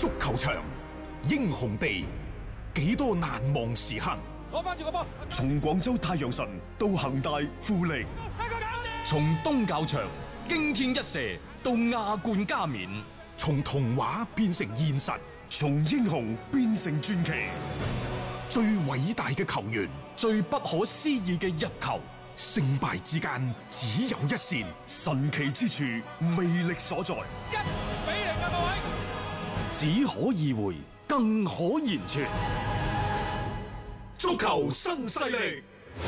足球場，英雄地，幾多難忘時刻。 攞翻住個波， 從廣州太陽神到恒大富力， 從東較場驚天一射到亞冠加冕， 從童話變成現實， 從英雄變成傳奇。 最偉大嘅球員， 最不可思議嘅入球， 勝敗之間只有一線， 神奇之處魅力所在。 一比零嘅各位， 只可意會，更可言傳。 足球新勢力，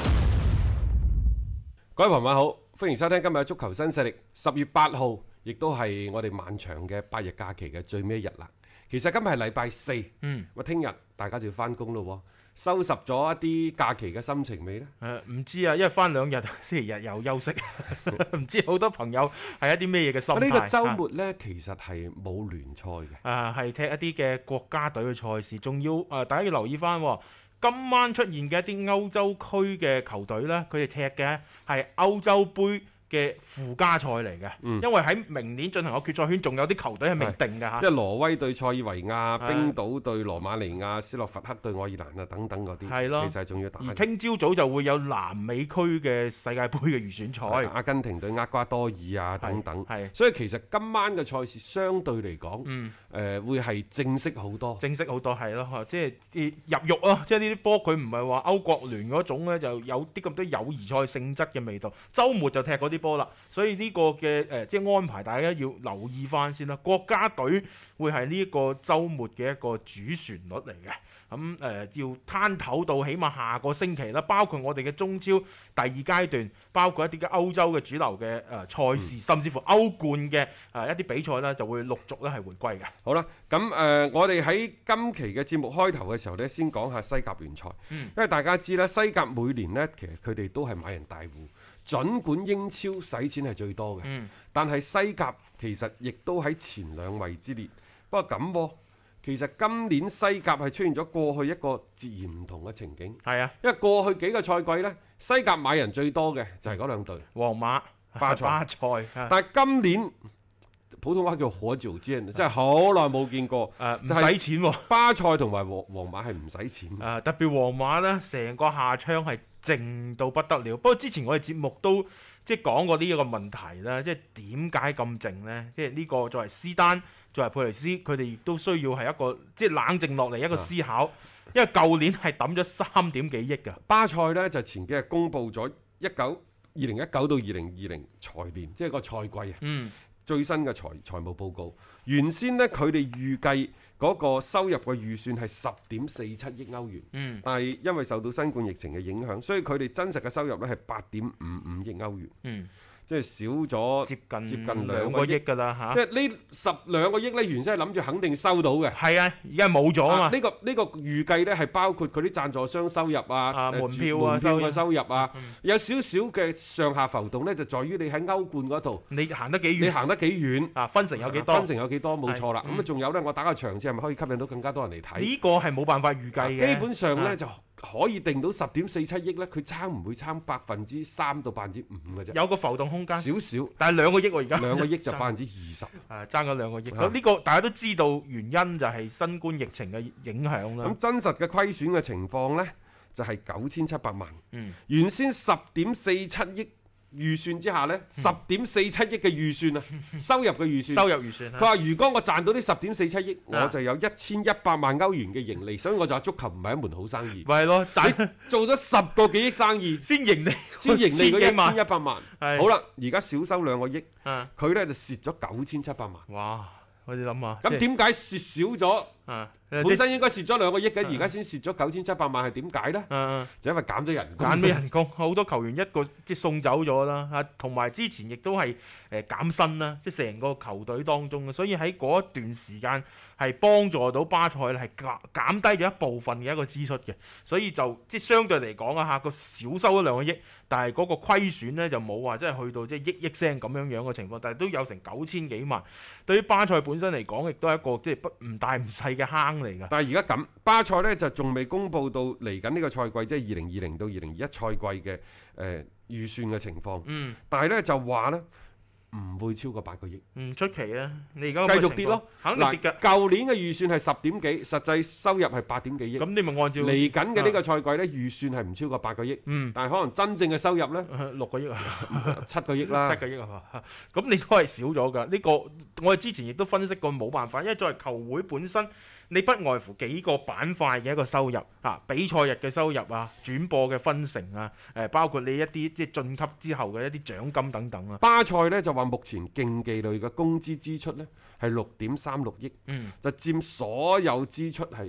各位朋友好，歡迎收聽今日嘅足球新勢力。10月8號，亦都係我哋漫長嘅8日假期嘅最尾一日啦。其實今日係禮拜四，咁聽日大家就要翻工咯。收拾咗一啲假期嘅心情未呢？ 唔知啊，因為翻2日，星期日又休息，唔知好多朋友係一啲咩嘢嘅心態。 呢個週末呢，其實係冇聯賽嘅， 係踢一啲嘅國家隊嘅賽事，仲要大家要留意翻。今晚出現嘅一啲歐洲區嘅球隊呢，佢哋踢嘅係歐洲杯嘅附加賽嚟嘅，因為喺明年進行個決賽圈，仲有啲球隊係未定嘅嚇。 即係挪威對塞爾維亞、冰島對羅馬尼亞、斯洛伐克對愛爾蘭啊等等嗰啲， 係咯， 其實仲要打。 而聽朝早就會有南美區嘅世界盃嘅預選賽， 阿根廷對厄瓜多爾啊等等。所以其實今晚嘅賽事相對嚟講，會係正式好多。正式好多係咯，即係入肉啊！即係呢啲波佢唔係話歐國聯嗰種咧，就有啲咁多友誼賽性質嘅味道。週末就踢嗰啲波啦，所以呢個嘅即係安排，大家要留意翻先啦。國家隊會係呢一個週末嘅一個主旋律嚟嘅，咁要攤唞到起碼下個星期啦。包括我哋嘅中超第2階段，包括一啲嘅歐洲嘅主流嘅賽事，甚至乎歐冠嘅一啲比賽呢，就會陸續咧係回歸嘅。 好啦，咁我哋喺今期嘅節目開頭嘅時候呢，先講下西甲聯賽，因為大家知啦，西甲每年呢，其實佢哋都係買人大戶。儘管英超使錢係最多嘅，但係西甲其實亦都喺前2位之列。不過咁，其實今年西甲係出現咗過去一個截然唔同嘅情景。 係啊， 因為過去幾個賽季呢，西甲買人最多嘅就係嗰2隊， 皇馬、巴塞。 但係今年普通話叫火照尖，真係好耐冇見過。 唔使錢喎， 巴塞同埋皇馬係唔使錢。 特別皇馬呢，成個下窗係靜到不得了。不過之前我哋節目都即係講過呢一個問題啦，即係點解咁靜呢？即係呢個作為斯丹、作為佩雷斯，佢哋亦都需要係一個即係冷靜落嚟一個思考。因為舊年係抌咗3點幾億㗎。 巴塞呢就前幾日公布咗2019到2020財年，即係個賽季啊。最新嘅財務報告，原先呢，佢哋預計嗰個收入嘅預算係10.47億歐元，但係因為受到新冠疫情嘅影響，所以佢哋真實嘅收入呢係8.55億歐元。即係少咗接近2個億㗎啦嚇！即係呢12個億呢，原先係諗住肯定收到嘅。 係啊，而家冇咗啊嘛！ 呢個預計呢係包括佢啲贊助商收入啊、 門票嘅收入啊，有少少嘅上下浮動呢，就在於你喺歐冠嗰度， 你行得幾遠？你行得幾遠？ 分成有幾多？ 分成有幾多？冇錯啦。咁仲有呢，我打個場次係咪可以吸引到更加多人嚟睇？ 呢個係冇辦法預計嘅。 基本上呢，就可以定到10.47億呢，佢差唔會差3%到5%嘅啫。 有個浮動空間。 少少， 但係2個億喎，而家 2個億就20%。 爭咗2個億。咁呢個大家都知道原因就係新冠疫情嘅影響啦。 咁真實嘅虧損嘅情況呢，就係9700萬。原先10.47億預算之下呢，10.47億嘅預算啊，收入嘅預算。佢話如果我賺到呢10.47億，我就有1100萬歐元嘅盈利，所以我就話足球唔係一門好生意。 係咯， 你做咗10個幾億生意， 先盈利嗰1100萬。好啦，而家少收2個億，佢呢就蝕咗9700萬。 哇！我哋諗下， 咁點解蝕少咗？本身應該蝕咗2個億嘅，而家先蝕咗9700萬，係點解呢？就因為減咗人工。 減咗人工，好多球員一個即係送走咗啦，同埋之前亦都係減薪啦，即係成個球隊當中嘅，所以喺嗰一段時間係幫助到巴塞係減低咗一部分嘅一個支出嘅，所以就即係相對嚟講啊嚇，個少收咗2個億，但係嗰個虧損咧就冇話即係去到即係億聲咁樣嘅情況，但係都有成9000幾萬。對於巴塞本身嚟講，亦都係一個即係唔大唔細嘅坑嚟㗎。 但係而家咁，巴塞咧就仲未公布到嚟緊呢個賽季，即係2020到2021賽季嘅預算嘅情況。但係咧就話咧， 唔會超過8個億， 唔出奇啊！你而家繼續跌咯， 肯定跌㗎。 舊年嘅預算係10點幾，實際收入係8點幾億。 咁你咪按照嚟緊嘅呢個賽季呢，預算係唔超過8個億，但係可能真正嘅收入呢， 6個億啊， 7個億啦， 7個億啊，咁你都係少咗㗎。呢個我哋之前亦都分析過，冇辦法，因為作為球會本身，你不外乎幾個板塊嘅一個收入啊，比賽日嘅收入啊，轉播嘅分成啊，包括你一啲即係晉級之後嘅一啲獎金等等啊。 巴塞呢就話目前競技類嘅工資支出呢係6.36億，就佔所有支出係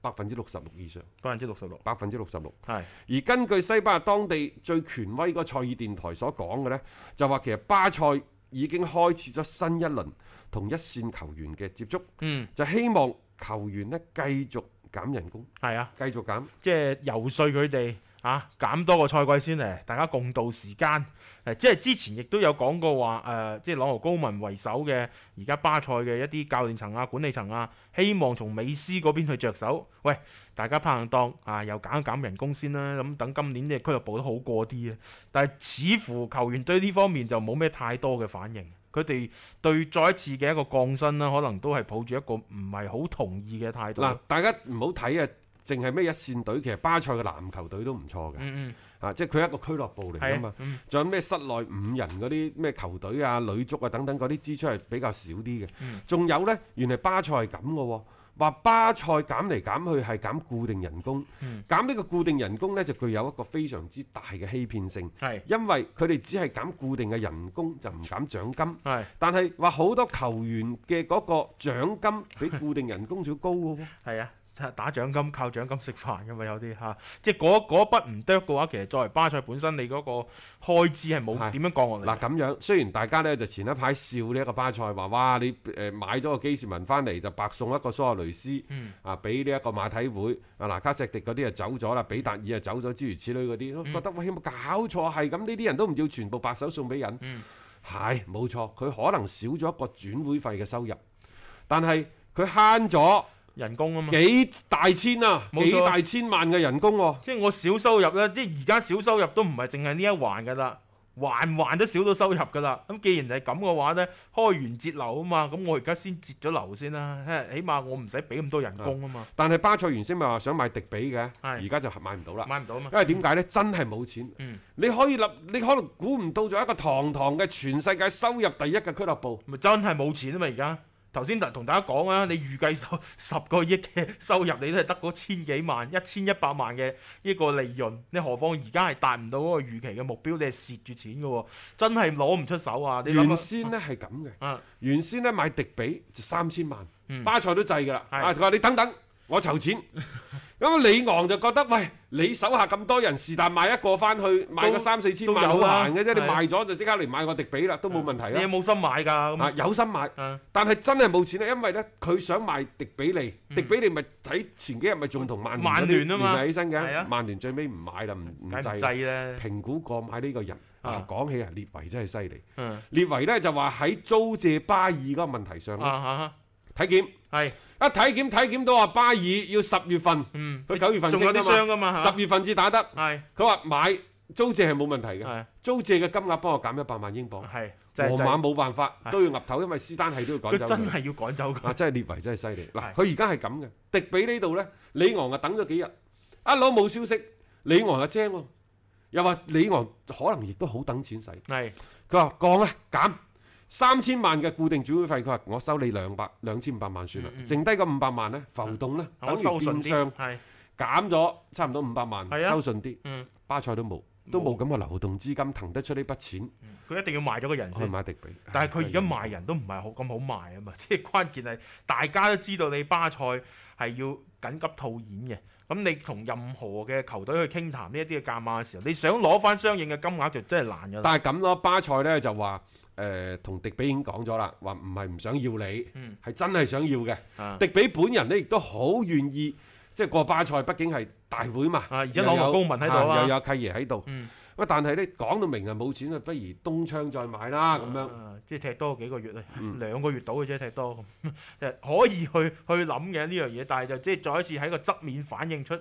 66%以上 66%， 66%。 係。 而根據西班牙當地最權威個賽爾電台所講嘅呢，就話其實巴塞已經開始咗新一輪同一線球員嘅接觸，就希望球員呢繼續減人工， 係啊， 繼續減， 即係游說佢哋啊，減多個賽季先嚟，大家共度時間。即係之前亦都有講過話，即係朗豪高文為首嘅而家巴塞嘅一啲教練層啊、管理層啊，希望從美斯嗰邊去着手。喂，大家拍硬檔啊，又減一減人工先啦。咁等今年嘅俱樂部都好過啲啊。但係似乎球員對呢方面就冇咩太多嘅反應。佢哋對再一次嘅一個降薪啦，可能都係抱住一個唔係好同意嘅態度。 嗱，大家唔好睇啊，淨係咩一線隊，其實巴塞嘅籃球隊都唔錯嘅。即係佢係一個俱樂部嚟㗎嘛，仲有咩室內5人嗰啲咩球隊啊、女足啊等等嗰啲支出係比較少啲嘅。仲有呢，原來巴塞係咁嘅喎，話巴塞減嚟減去係減固定人工，減呢個固定人工呢，就具有一個非常之大嘅欺騙性，因為佢哋只係減固定嘅人工就唔減獎金，但係話好多球員嘅嗰個獎金比固定人工仲要高嘅喎。 係啊。打獎金靠獎金食飯㗎嘛，有啲嚇，即係嗰一筆唔剁嘅話，其實作為巴塞本身，你嗰個開支係冇點樣降落嚟。 嗱咁樣，雖然大家呢就前一排笑呢一個巴塞話，哇你買咗個基士文翻嚟就白送一個蘇亞雷斯，俾呢一個馬體會，拿卡錫迪嗰啲就走咗啦，比達爾就走咗，諸如此類嗰啲，覺得喂有冇搞錯？係咁呢啲人都唔要全部白手送俾人，係冇錯，佢可能少咗一個轉會費嘅收入，但係佢慳咗人工啊嘛， 幾大千啊，幾大千萬嘅人工喎。 即係我少收入咧，即係而家少收入都唔係淨係呢一環㗎啦，環都少到收入㗎啦。咁既然係咁嘅話咧，開源節流啊嘛，咁我而家先節咗流先啦，起碼我唔使俾咁多人工啊嘛。 但係巴塞原先咪話想買迪比嘅，而家就買唔到啦。 買唔到啊嘛。 因為點解咧？真係冇錢。你可能估唔到咗一個堂堂嘅全世界收入第一嘅俱樂部， 咪真係冇錢啊嘛而家。頭先同大家講啊，你預計10個億嘅收入，你都係得嗰千幾萬、1100萬嘅呢個利潤，你何況而家係達唔到嗰個預期嘅目標，你係蝕住錢嘅喎，真係攞唔出手啊！你原先咧係咁嘅，原先咧買迪比就3000萬，巴塞都制㗎啦。佢話你等等，我籌錢。咁李昂就覺得，喂，你手下咁多人，是但買一個翻去，買個3-4千萬好難嘅啫。你賣咗就即刻嚟買個迪比啦，都冇問題啦。 你有冇心買㗎？ 有心買，但係真係冇錢啊！因為咧，佢想賣迪比利，迪比利咪喺前幾日咪仲同曼聯聯繫起身嘅，曼聯最尾唔買啦，唔制。評估過買呢個人。講起啊，列維真係犀利。列維咧就話喺租借巴爾嗰個問題上體檢係一體檢到話巴爾要10月份，佢9月份仲有啲傷㗎嘛，10月份至打得。佢話買租借係冇問題嘅，租借嘅金額幫我減100萬英鎊。皇馬冇辦法都要岌頭，因為斯丹係都要趕走佢。 佢真係要趕走佢。 真係列維真係犀利。嗱，佢而家係咁嘅，迪比呢度咧，里昂啊等咗幾日，一攞冇消息，里昂又精喎，又話里昂可能亦都好等錢使。佢話降啊減。3000萬嘅固定轉會費，佢話我收你2500萬算啦，剩低個500萬咧浮動咧，等於變相減咗差唔多500萬，收順啲。巴塞都冇咁嘅流動資金騰得出呢筆錢， 佢一定要賣咗個人先。 去買迪比， 但係佢而家賣人都唔係咁好賣啊嘛，即係關鍵係大家都知道你巴塞係要緊急套現嘅。咁你同任何嘅球隊去傾談呢一啲嘅價碼嘅時候，你想攞翻相應嘅金額就真係難㗎。但係咁咯，巴塞咧就話。同迪比已經講咗啦，話唔係唔想要你，係真係想要嘅。迪比本人咧亦都好願意，即係過巴塞，畢竟係大會嘛， 而且朗豪高文喺度又有契爺喺度。但係咧講到明係冇錢啊，不如東窗再買啦咁樣。 即係踢多幾個月咧，2個月到嘅啫，踢多咁，可以去諗嘅呢樣嘢。但係就即係再一次喺個側面反映出，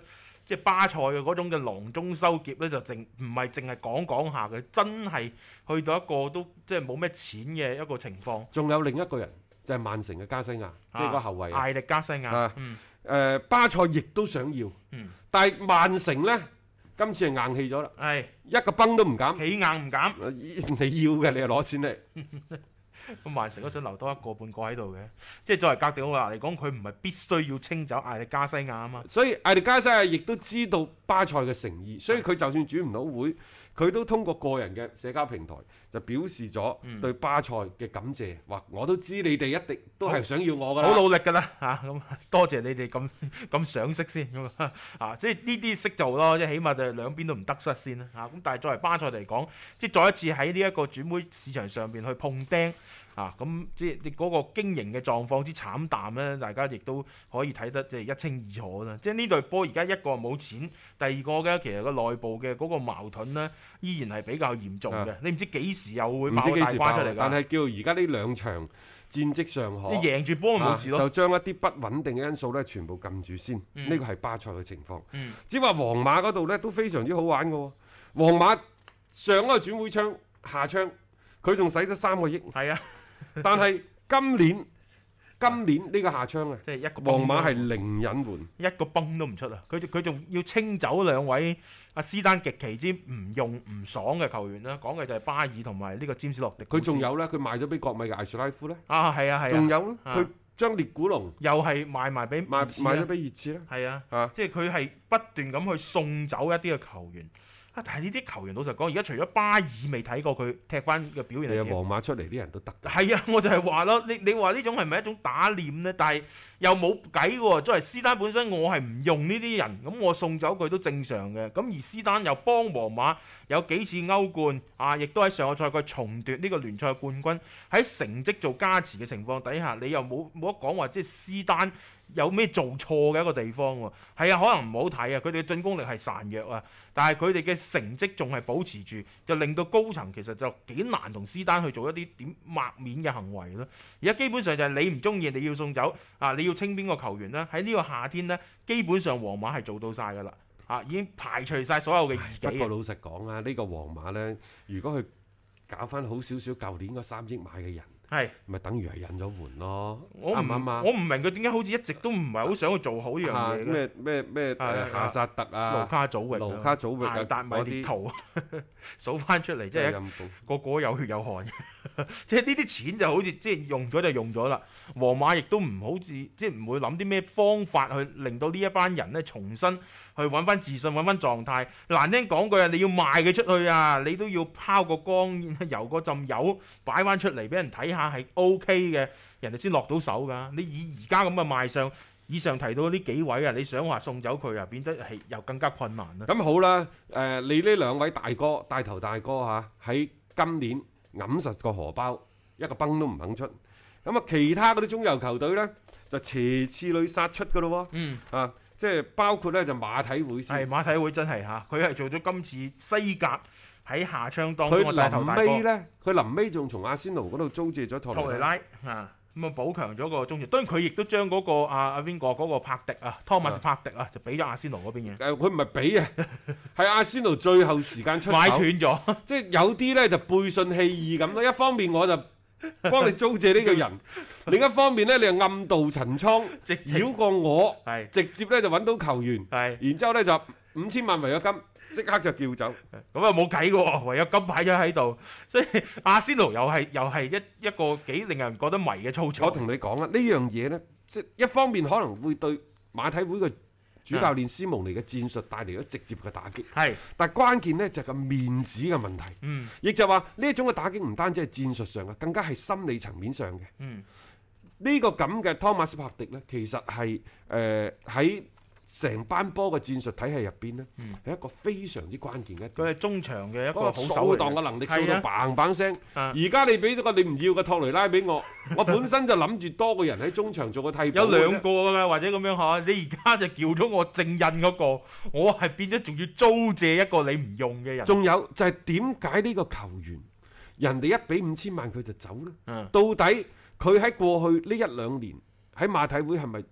即係巴塞嘅嗰種嘅囊中羞澀咧，就唔係淨係講下嘅，真係去到一個都即係冇咩錢嘅一個情況。 仲有另一個人就係曼城嘅加西亞，即係個後衞艾力加西亞。 巴塞亦都想要，但係曼城呢，今次係硬氣咗啦，一個崩都唔減， 企硬唔減。 你要嘅你就攞錢嚟。 咁曼城都想留多一個半個喺度嘅，即係作為哥迪奧拿嚟講，佢唔係必須要清走艾力加西亞啊嘛。 所以艾力加西亞亦都知道巴塞嘅誠意，所以佢就算轉唔到會，佢都通過個人嘅社交平台就表示咗對巴塞嘅感謝，話我都知你哋一定都係想要我㗎啦， 好努力㗎啦嚇，咁多謝你哋咁賞識先咁啊，即係呢啲識做咯，即係起碼就兩邊都唔得失先啦嚇。咁但係作為巴塞嚟講，即係再一次喺呢一個轉會市場上邊去碰釘。咁即係你嗰個經營嘅狀況之慘淡咧，大家亦都可以睇得即係一清二楚啦。即係呢隊波而家一個冇錢，第二個嘅其實個內部嘅嗰個矛盾咧，依然係比較嚴重嘅。你唔知幾時又會爆大瓜出嚟㗎。但係叫而家呢兩場戰績尚可， 你贏住波咪冇事咯。 就將一啲不穩定嘅因素咧，全部撳住先。呢個係巴塞嘅情況。只話皇馬嗰度咧都非常之好玩嘅喎。皇馬上一個轉會窗下窗，佢仲使咗3個億。 係啊。 但係今年呢個夏窗啊， 即係一個皇馬係零隱瞞， 一個崩都唔出啊！佢仲要清走2位阿斯丹極其之唔用唔爽嘅球員啦，講嘅就係巴爾同埋呢個詹士洛迪。 佢仲有咧，佢賣咗俾國米嘅艾殊拉夫咧。 係啊。 仲有佢將列古龍又係賣埋俾賣咗俾熱刺啦。 係啊，即係佢係不斷咁去送走一啲嘅球員。但係呢啲球員老實講，而家除咗巴爾未睇過佢踢翻嘅表現係點？ 皇馬出嚟啲人都得。 係啊，我就係話咯，你話呢種係咪一種打臉呢？但係又冇計喎。作為斯丹本身，我係唔用呢啲人，咁我送走佢都正常嘅。咁而斯丹又幫皇馬有幾次歐冠亦都喺上個賽季重奪呢個聯賽冠軍。喺成績做加持嘅情況底下，你又冇得講話即係斯丹有咩做錯嘅一個地方喎？係啊，可能唔好睇啊，佢哋嘅進攻力係孱弱啊，但係佢哋嘅成績仲係保持住，就令到高層其實就幾難同斯丹去做一啲點抹面嘅行為咯。而家基本上就係你唔中意，你要送走你要清邊個球員呢？喺呢個夏天呢，基本上皇馬係做到晒㗎啦，已經排除晒所有嘅異己。 不過老實講啊，呢個皇馬呢，如果佢搞翻好少少，舊年嗰3億買嘅人。咪等於係引咗援咯，啱唔啱啊？我唔明佢點解好似一直都唔係好想去做好呢樣嘢咩夏薩特盧卡祖域、艾達米列圖數翻出嚟，即係個個有血有汗。即係呢啲錢就好似即係用咗就用咗啦。皇馬亦都唔好似即係唔會諗啲咩方法去令到呢一班人咧重新去揾翻自信、揾翻狀態。難聽講句啊，你要賣佢出去啊，你都要拋個光、油個浸油擺翻出嚟俾人睇下係 OK 嘅，人哋先落到手㗎。你以而家咁嘅賣相，以上提到呢幾位啊，你想話送走佢啊，變得係又更加困難啦。 咁好啦，你呢兩位大哥、帶頭大哥喺今年揞實個荷包，一個崩都唔肯出。咁其他嗰啲中游球隊呢，就斜刺裏殺出㗎咯喎。即係包括咧就馬體會先。係馬體會真係佢係做咗今次西甲喺夏窗當中嘅帶頭大哥。佢臨尾仲從阿仙奴嗰度租借咗托雷拉咁補強咗個中場。當然佢亦都將嗰個邊個嗰個柏迪湯馬斯柏迪就俾咗阿仙奴嗰邊嘅。佢唔係俾啊，係阿仙奴最後時間出手買斷咗。即係有啲咧就背信棄義咁咯。一方面我就幫你租借呢個人，另一方面咧你又暗度陳倉，繞過我，直接咧就揾到球員，然之後咧就5000萬違約金，即刻就叫走。咁啊冇計嘅喎，違約金擺咗喺度，所以阿仙奴又係一個幾令人覺得迷嘅操作。我同你講啊，呢樣嘢咧，即係一方面可能會對馬體會嘅主教練斯蒙尼嘅戰術帶嚟咗直接嘅打擊，但係關鍵呢就係個面子嘅問題，亦就話呢一種嘅打擊唔單止係戰術上嘅，更加係心理層面上嘅。呢個咁嘅湯馬斯柏迪呢，其實係喺成班波嘅戰術體系入邊呢，係一個非常之關鍵嘅。佢係中場嘅一個好掃蕩嘅能力，掃到嘭嘭聲。而家你俾咗個你唔要嘅托雷拉俾我，我本身就諗住多個人喺中場做個替補。有兩個㗎，或者咁樣嚇。你而家就叫咗我正印嗰個，我係變咗仲要租借一個你唔用嘅人。仲有就係點解呢個球員人哋一俾5000萬佢就走呢？到底佢喺過去呢1-2年喺馬體會係咪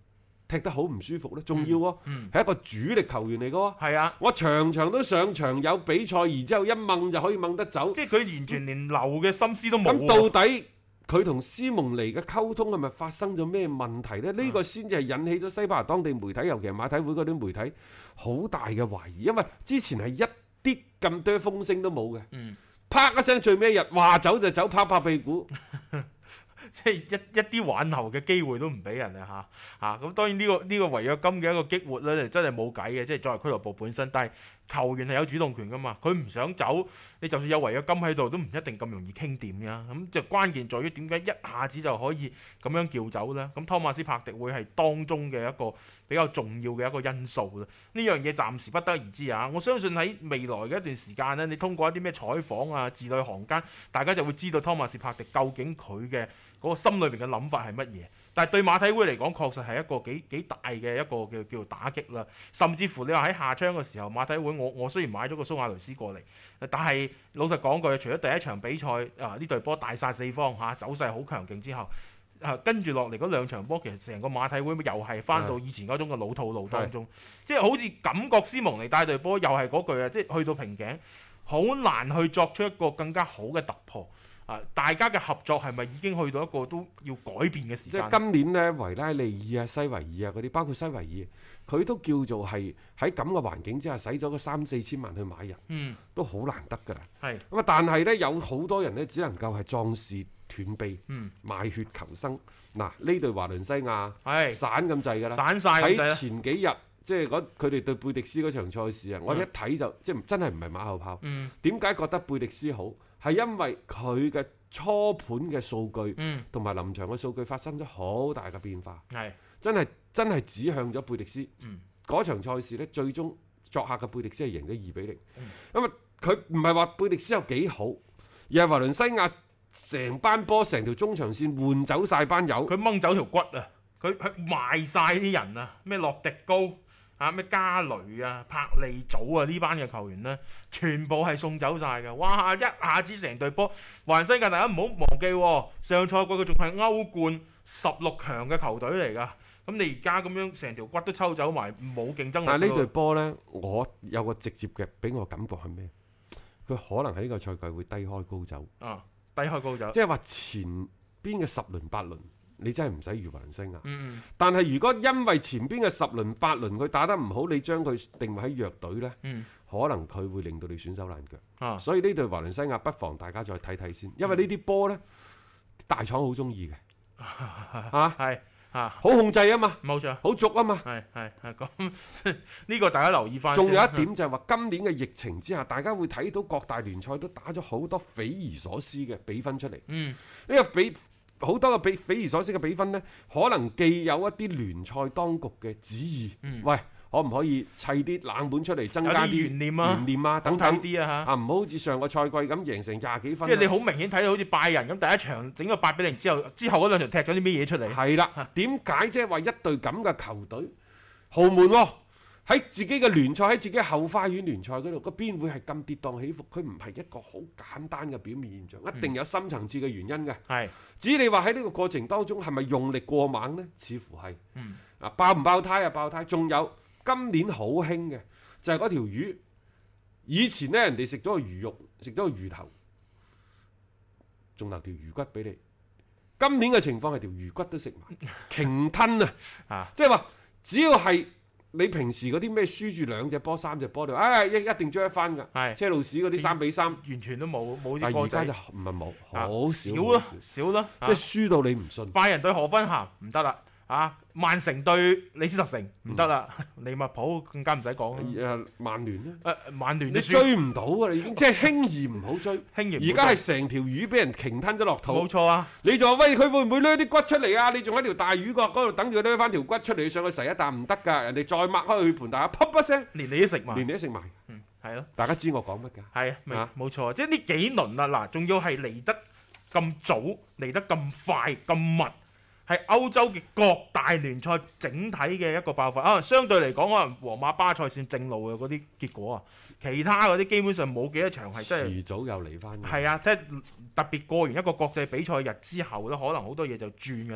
踢得好唔舒服呢？仲要喎，係一個主力球員嚟嘅喎。 係啊， 我場場都上場有比賽，然之後一掹就可以掹得走。 即係佢完全連留嘅心思都冇。 咁到底佢同斯蒙尼嘅溝通係咪發生咗咩問題呢？呢個先至係引起咗西班牙當地媒體，尤其係馬體會嗰啲媒體好大嘅懷疑，因為之前係一啲咁多風聲都冇嘅。啪一聲，最尾一日話走就走，拍屁股。 即係一啲挽留嘅機會都唔俾人啊嚇咁當然呢個違約金嘅一個激活咧，真係冇計嘅，即係作為俱樂部本身，但係球員係有主動權噶嘛，佢唔想走，你就算有違約金喺度，都唔一定咁容易傾掂呀。咁就關鍵在於點解一下子就可以咁樣叫走呢？咁湯馬斯柏迪會係當中嘅一個比較重要嘅一個因素啦。呢樣嘢暫時不得而知啊！我相信喺未來嘅一段時間呢，你通過一啲咩採訪啊、字裏行間，大家就會知道湯馬斯柏迪究竟佢嘅嗰個心裏邊嘅諗法係乜嘢。但係對馬體會嚟講，確實係一個幾大嘅一個叫做打擊啦。甚至乎你話喺夏窗嘅時候，馬體會我雖然買咗個蘇亞雷斯過嚟，但係老實講句，除咗第一場比賽呢隊波大殺四方走勢好強勁之後，跟住落嚟嗰兩場波，其實成個馬體會又係翻到以前嗰種嘅老套路當中，即係好似感覺斯蒙尼帶隊波又係嗰句啊，即係去到瓶頸，好難去作出一個更加好嘅突破。大家嘅合作係咪已經去到一個都要改變嘅時間？ 即係今年呢，維拉利爾啊、西維爾啊嗰啲，包括西維爾，佢都叫做係喺咁嘅環境之下，使咗個3-4千萬去買人，都好難得㗎啦。咁但係呢，有好多人呢，只能夠係壯士斷臂，賣血求生。嗱，呢隊華倫西亞散咁滯㗎啦， 散晒喺前幾日。即係佢哋對貝迪斯嗰場賽事啊，我一睇就即係真係唔係馬後炮。點解覺得貝迪斯好？係因為佢嘅初盤嘅數據同埋臨場嘅數據發生咗好大嘅變化。真係指向咗貝迪斯。嗰場賽事呢，最終作客嘅貝迪斯係贏咗2-0。咁啊，佢唔係話貝迪斯有幾好，而係華倫西亞成班波成條中場線換走晒班友， 佢掹走條骨啊！佢賣晒啲人啊！咩洛迪高？咩加雷啊、柏利祖啊呢班嘅球員呢，全部係送走晒嘅。哇！一下子成隊波，華倫西亞大家唔好忘記，上賽季佢仲係歐冠16強嘅球隊嚟㗎。咁你而家咁樣成條骨都抽走埋，冇競爭力。 但係呢隊波呢，我有個直接嘅俾我感覺係咩？佢可能喺呢個賽季會低開高走。 低開高走。 即係話前邊嘅10輪8輪。你真係唔使預華倫西亞，但係如果因為前邊嘅10輪8輪佢打得唔好，你將佢定位喺弱隊呢，可能佢會令到你損手爛腳。所以呢隊華倫西亞不妨大家再睇睇先，因為呢啲波呢，大廠好中意嘅，好控制啊嘛， 冇錯， 好足啊嘛， 咁呢個大家留意翻。 仲有一點就係話，今年嘅疫情之下，大家會睇到各大聯賽都打咗好多匪夷所思嘅比分出嚟。呢個好多嘅匪夷所思嘅比分呢，可能既有一啲聯賽當局嘅旨意，喂，可唔可以砌啲冷門出嚟，增加啲懸念啊，等等啲唔好好似上個賽季咁贏成20幾分。 即係你好明顯睇到好似拜仁咁，第一場整個8-0之後嗰兩場踢咗啲咩嘢出嚟？ 係啦，點解即係話一隊咁嘅球隊豪門喎？喺自己嘅聯賽，喺自己嘅後花園聯賽嗰度，個邊會係咁跌宕起伏？佢唔係一個好簡單嘅表面現象，一定有深層次嘅原因嘅。至於你話喺呢個過程當中係咪用力過猛呢？似乎係。爆唔爆胎啊？爆胎。仲有今年好興嘅就係嗰條魚，以前呢，人哋食咗個魚肉，食咗個魚頭，仲留條魚骨俾你。今年嘅情況係條魚骨都食埋，鯨吞啊！即係話只要係。你平時嗰啲咩輸住2隻波3隻波，一定追一翻㗎。車路士嗰啲3-3， 完全都冇啲。 但係而家就唔係冇，好少啦， 即係輸到你唔信。 拜仁對荷芬咸唔得啦，曼城對李斯特城唔得啦，利物浦更加唔使講啦。 曼聯咧， 曼聯你追唔到㗎啦，已經即係輕易唔好追。而家係成條魚俾人鯨吞咗落肚。 冇錯啊！ 你仲話喂，佢會唔會掠啲骨出嚟啊？你仲喺條大魚角嗰度等住佢掠翻條骨出嚟上去食一啖唔得㗎，人哋再擘開佢盤大，啪一聲， 連你都食埋。係咯。 大家知我講乜㗎？ 係冇錯，即係呢幾輪啊嗱，仲要係嚟得咁早，嚟得咁快咁密。係歐洲嘅各大聯賽整體嘅一個爆發，相對嚟講，可能皇馬、巴塞算正路嘅嗰啲結果啊，其他嗰啲基本上冇幾多場係真係。遲早又嚟翻。係啊，即係特別過完一個國際比賽日之後咧，可能好多嘢就轉㗎啦。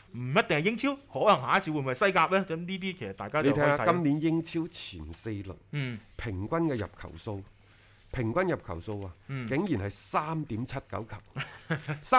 唔一定係英超，可能下一次會唔會係西甲呢？咁呢啲其實大家你就可以睇下今年英超前4輪，平均嘅入球數，平均入球數啊，竟然係3.79球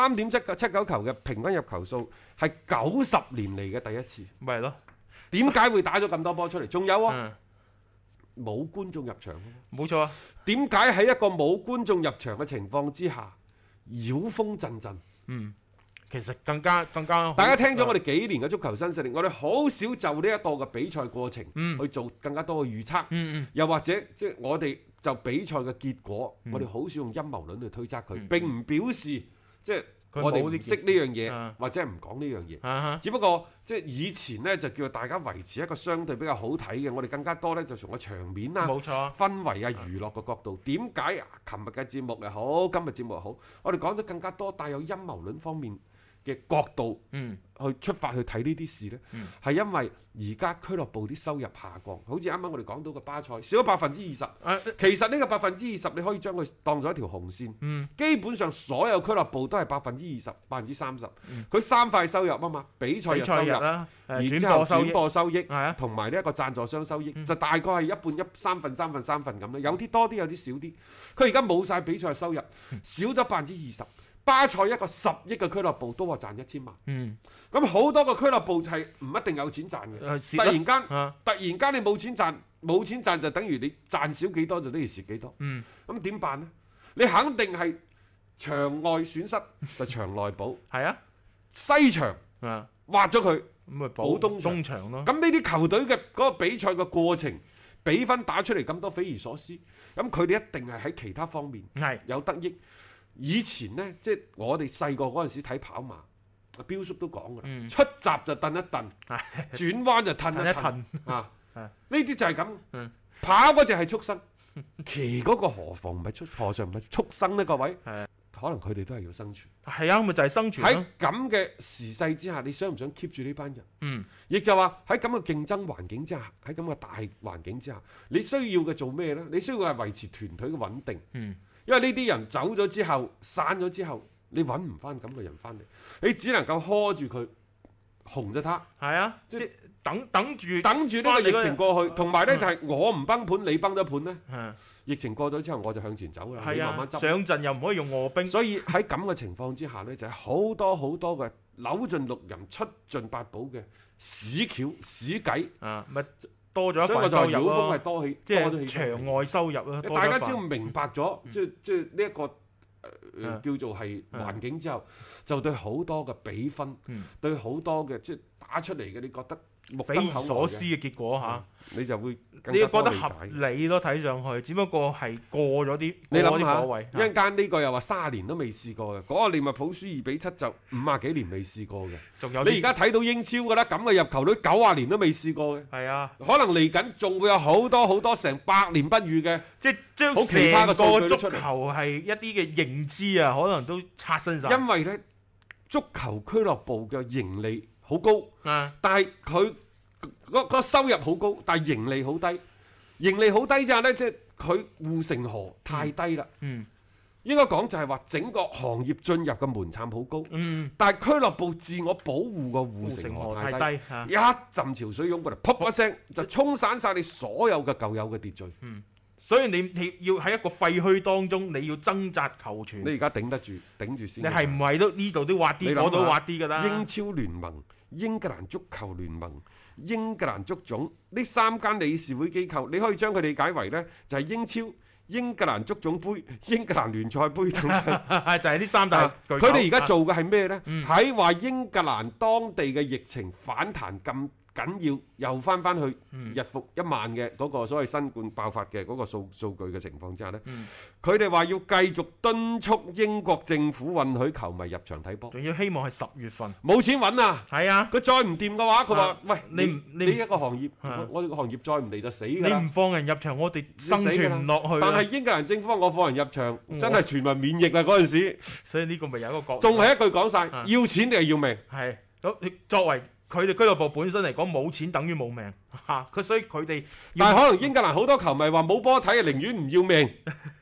，3.79球嘅平均入球數係90年嚟嘅第一次。 咪係咯？ 點解會打咗咁多波出嚟？仲有啊，冇觀眾入場。 冇錯啊。 點解喺一個冇觀眾入場嘅情況之下，妖風陣陣？ 其實更加大家聽咗我哋幾年嘅足球新勢力，我哋好少就呢一個嘅比賽過程去做更加多嘅預測，又或者即係我哋就比賽嘅結果，我哋好少用陰謀論去推測佢，並唔表示即係我哋唔識呢樣嘢，或者係唔講呢樣嘢。只不過即係以前呢，就叫大家維持一個相對比較好睇嘅，我哋更加多呢，就從個場面啊、 冇錯氛圍啊、娛樂嘅角度。點解琴日嘅節目又好，今日節目又好，我哋講咗更加多帶有陰謀論方面嘅角度去出發去睇呢啲事呢？係因為而家俱樂部啲收入下降，好似啱啱我哋講到嘅巴塞少咗20%，其實呢個20%你可以將佢當咗一條紅線，基本上所有俱樂部都係20%、30%，佢三塊收入啊嘛，比賽日收入，然之後轉播收益，同埋呢一個贊助商收益，就大概係一半三分咁啦，有啲多啲，有啲少啲。佢而家冇晒比賽收入，少咗20%。巴塞一個10億嘅俱樂部都話賺1000萬，咁好多個俱樂部係唔一定有錢賺嘅，突然間你冇錢賺就等於你賺少幾多就等於蝕幾多，咁點辦呢？你肯定係場外損失就場內補，西場挖咗佢，補東場咯。 咁呢啲球隊嘅嗰個比賽嘅過程，比分打出嚟咁多匪夷所思，咁佢哋一定係喺其他方面有得益。以前呢，即係我哋細個嗰陣時睇跑馬，彪叔都講㗎啦，出閘就蹬一蹬，轉彎就蹬一蹬，呢啲就係咁。跑嗰隻係畜生，騎嗰個何嘗唔係畜生呢？各位，可能佢哋都係要生存。 係啊，咪就係生存。 喺咁嘅時勢之下，你想唔想 keep 住呢班人？亦就話喺咁嘅競爭環境之下，喺咁嘅大環境之下，你需要嘅做咩呢？你需要係維持團隊嘅穩定。因為呢啲人走咗之後，散咗之後，你揾唔翻咁嘅人翻嚟，你只能夠呵住佢，紅咗他。 係啊，即係等住呢個疫情過去，同埋呢就係我唔崩盤，你崩咗盤呢。疫情過咗之後，我就向前走啦。你慢慢執。 上陣又唔可以用卧兵。 所以喺咁嘅情況之下呢，就係好多嘅扭盡六壬、出盡八寶嘅屎橋屎計。 咪多咗一份收入咯，即係場外收入咯。 大家只要明白咗，即係呢一個叫做係環境之後，就對好多嘅比分，對好多嘅即係打出嚟嘅，你覺得匪夷所思嘅結果嚇， 你就會你覺得合理咯，睇上去，只不過係過咗啲。 你諗下，一陣間呢個又話30年都未試過嘅，嗰個利物浦輸2-7就50幾年未試過嘅。仲有你而家睇到英超㗎啦，咁嘅入球率90年都未試過嘅。 係啊， 可能嚟緊仲會有好多成100年不遇嘅， 即係將成個足球係一啲嘅認知啊，可能都刷新晒。 因為咧，足球俱樂部嘅盈利好高，但係佢個收入好高，但係盈利好低。盈利好低之後呢，即係佢護城河太低啦。應該講就係話整個行業進入嘅門檻好高，但係俱樂部自我保護個護城河太低，一陣潮水湧過嚟，噗一聲就沖散晒你所有嘅舊有嘅秩序。 所以你要喺一個廢墟當中，你要掙扎求存。 你而家頂得住，頂住先。 你係唔係都呢度都挖啲，嗰度挖啲㗎啦？ 英超聯盟、英格蘭足球聯盟、英格蘭足總呢3間理事會機構，你可以將佢理解為呢，就係英超、英格蘭足總杯、英格蘭聯賽杯等等。 就係呢3大。 佢哋而家做嘅係咩呢？喺話英格蘭當地嘅疫情反彈咁緊要，又翻去日復一萬嘅嗰個所謂新冠爆發嘅嗰個數據嘅情況之下呢，佢哋話要繼續敦促英國政府允許球迷入場睇波， 仲要希望係10月份。 冇錢揾啊！ 係啊， 佢再唔掂嘅話，佢話：喂， 你一個行業，我哋個行業再唔嚟就死㗎啦！ 你唔放人入場，我哋生存唔落去。 但係英格蘭政府話我放人入場，真係全民免疫啊！嗰陣時， 所以呢個咪有一個角度。 仲係一句講晒，要錢定係要命？ 係咁，作為佢哋俱樂部本身嚟講，冇錢等於冇命嚇，所以佢哋。 但係可能英格蘭好多球迷話冇波睇，寧願唔要命。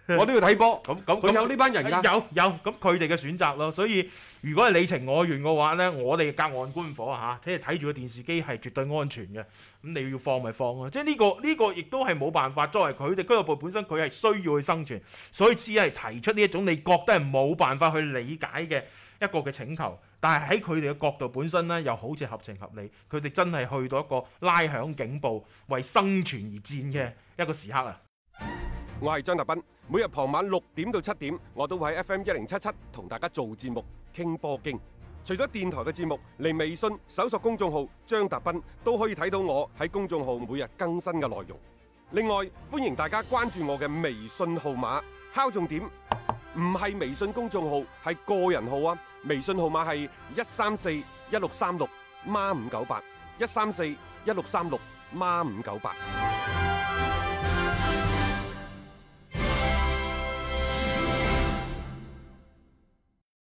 我都要睇波。 咁佢有呢班人㗎。 有咁佢哋嘅選擇咯。所以如果係你情我願嘅話呢，我哋隔岸觀火嚇，即係睇住個電視機係絕對安全嘅。咁你要放咪放咯，即係呢個亦都係冇辦法。作為佢哋俱樂部本身，佢係需要去生存，所以只係提出呢一種你覺得係冇辦法去理解嘅一個嘅請求。但係喺佢哋嘅角度本身呢，又好似合情合理。佢哋真係去到一個拉響警報、為生存而戰嘅一個時刻啊！ 我係張達斌，每日傍晚6點到7點，我都會喺 FM1077同大家做節目傾波經。除咗電台嘅節目，嚟微信搜索公眾號張達斌都可以睇到我喺公眾號每日更新嘅內容。另外，歡迎大家關注我嘅微信號碼，敲重點，唔係微信公眾號，係個人號啊！微信號碼係1341636孖598，1341636孖598。